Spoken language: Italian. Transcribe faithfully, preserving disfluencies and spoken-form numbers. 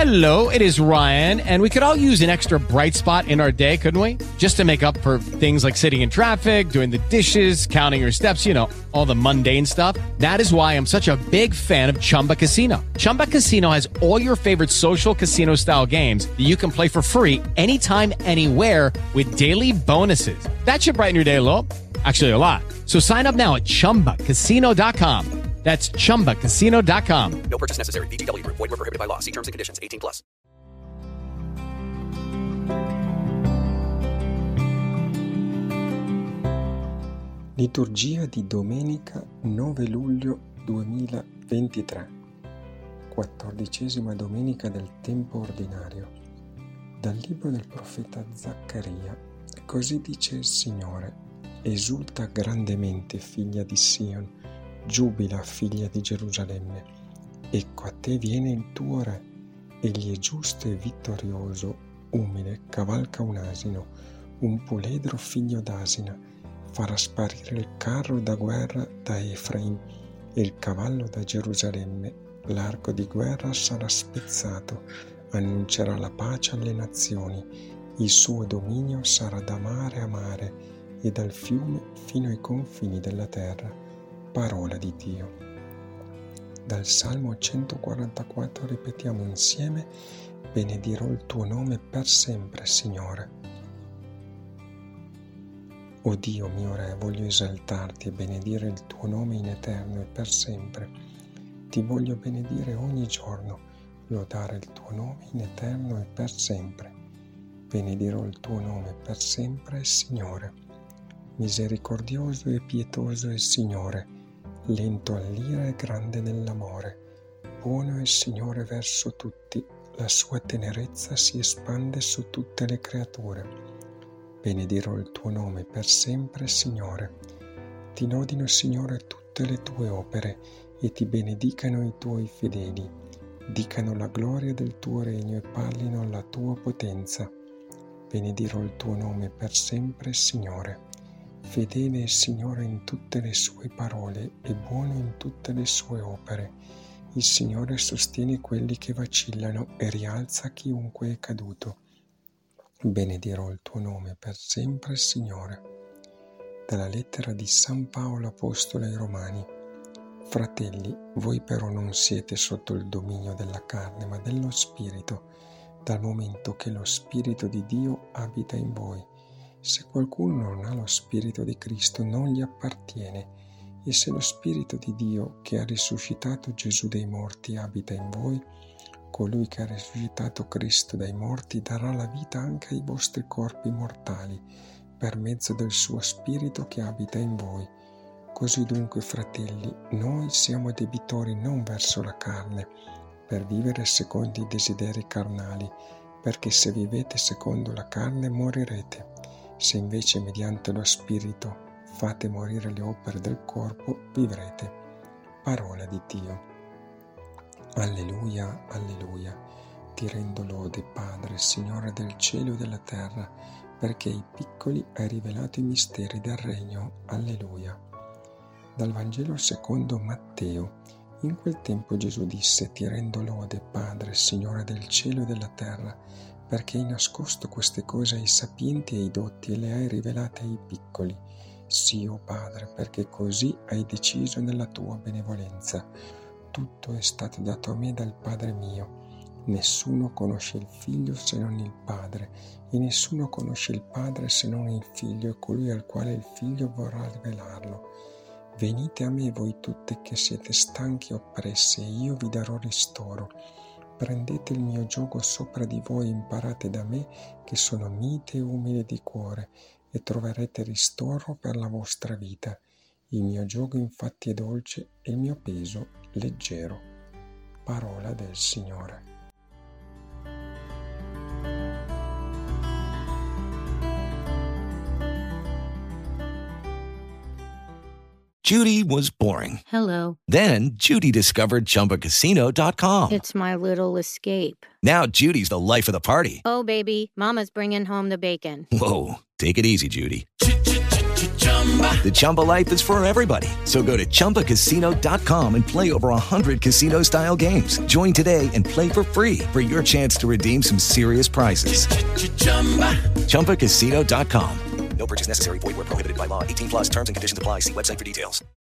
Hello, it is Ryan, and we could all use an extra bright spot in our day, couldn't we? Just to make up for things like sitting in traffic, doing the dishes, counting your steps, you know, all the mundane stuff. That is why I'm such a big fan of Chumba Casino. Chumba Casino has all your favorite social casino-style games that you can play for free anytime, anywhere with daily bonuses. That should brighten your day a little. Actually, a lot. So sign up now at chumba casino dot com. That's chumba casino dot com. No purchase necessary. V G W Group. Void where prohibited by law. See terms and conditions. eighteen plus. Liturgia di domenica nove luglio duemilaventitré, quattordicesima domenica del tempo ordinario. Dal libro del profeta Zaccaria. Così dice il Signore: esulta grandemente, figlia di Sion, giubila, figlia di Gerusalemme. Ecco, a te viene il tuo re, egli è giusto e vittorioso, umile, cavalca un asino, un puledro figlio d'asina, farà sparire il carro da guerra da Efraim e il cavallo da Gerusalemme. L'arco di guerra sarà spezzato, annuncerà la pace alle nazioni, il suo dominio sarà da mare a mare e dal fiume fino ai confini della terra. Parola di Dio. Dal Salmo centoquarantaquattro ripetiamo insieme: benedirò il tuo nome per sempre, Signore. O Dio mio Re, voglio esaltarti e benedire il tuo nome in eterno e per sempre. Ti voglio benedire ogni giorno, lodare il tuo nome in eterno e per sempre. Benedirò il tuo nome per sempre, Signore. Misericordioso e pietoso è il Signore, lento all'ira e grande nell'amore. Buono è il Signore verso tutti, la sua tenerezza si espande su tutte le creature. Benedirò il tuo nome per sempre, Signore. Ti lodino, Signore, tutte le tue opere e ti benedicano i tuoi fedeli. Dicano la gloria del tuo regno e parlino la tua potenza. Benedirò il tuo nome per sempre, Signore. Fedele è il Signore in tutte le sue parole e buono in tutte le sue opere. Il Signore sostiene quelli che vacillano e rialza chiunque è caduto. Benedirò il tuo nome per sempre, Signore. Dalla lettera di San Paolo Apostolo ai Romani. Fratelli, voi però non siete sotto il dominio della carne, ma dello Spirito, dal momento che lo Spirito di Dio abita in voi. Se qualcuno non ha lo Spirito di Cristo, non gli appartiene. E se lo Spirito di Dio, che ha risuscitato Gesù dai morti, abita in voi, colui che ha risuscitato Cristo dai morti darà la vita anche ai vostri corpi mortali, per mezzo del suo Spirito che abita in voi. Così dunque, fratelli, noi siamo debitori non verso la carne, per vivere secondo i desideri carnali, perché se vivete secondo la carne morirete. Se invece mediante lo Spirito fate morire le opere del corpo, vivrete. Parola di Dio. Alleluia, alleluia. Ti rendo lode, Padre, Signore del cielo e della terra, perché ai piccoli hai rivelato i misteri del regno. Alleluia. Dal Vangelo secondo Matteo. In quel tempo Gesù disse: Ti rendo lode, Padre, Signore del cielo e della terra, perché hai nascosto queste cose ai sapienti e ai dotti e le hai rivelate ai piccoli. Sì, o Padre, perché così hai deciso nella tua benevolenza. Tutto è stato dato a me dal Padre mio. Nessuno conosce il Figlio se non il Padre, e nessuno conosce il Padre se non il Figlio e colui al quale il Figlio vorrà rivelarlo. Venite a me voi tutte che siete stanchi e oppressi, e io vi darò ristoro. Prendete il mio giogo sopra di voi e imparate da me, che sono mite e umile di cuore, e troverete ristoro per la vostra vita. Il mio giogo infatti è dolce e il mio peso leggero. Parola del Signore. Judy was boring. Hello. Then Judy discovered Chumba Casino dot com. It's my little escape. Now Judy's the life of the party. Oh, baby, mama's bringing home the bacon. Whoa, take it easy, Judy. The Chumba life is for everybody. So go to chumba casino dot com and play over one hundred casino-style games. Join today and play for free for your chance to redeem some serious prizes. chumba casino dot com. No purchase necessary. Void where prohibited by law. eighteen plus terms and conditions apply. See website for details.